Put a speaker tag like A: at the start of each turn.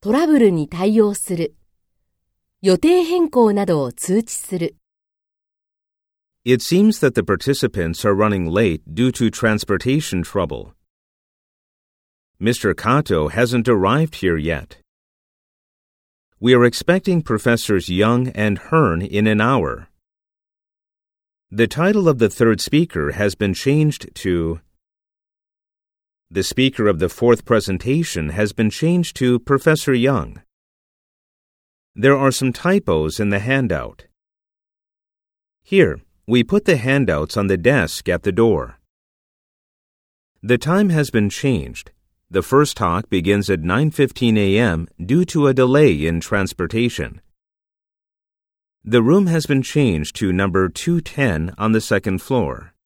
A: トラブルに対応する。予定変更などを通知する。
B: It seems that the participants are running late due to transportation trouble. Mr. Kato hasn't arrived here yet. We are expecting Professors Young and Hearn in an hour. The title of the third speaker has been changed to... The speaker of the fourth presentation has been changed to Professor Young. There are some typos in the handout. Here, we put the handouts on the desk at the door. The time has been changed. The first talk begins at 9:15 a.m. due to a delay in transportation. The room has been changed to number 210 on the second floor.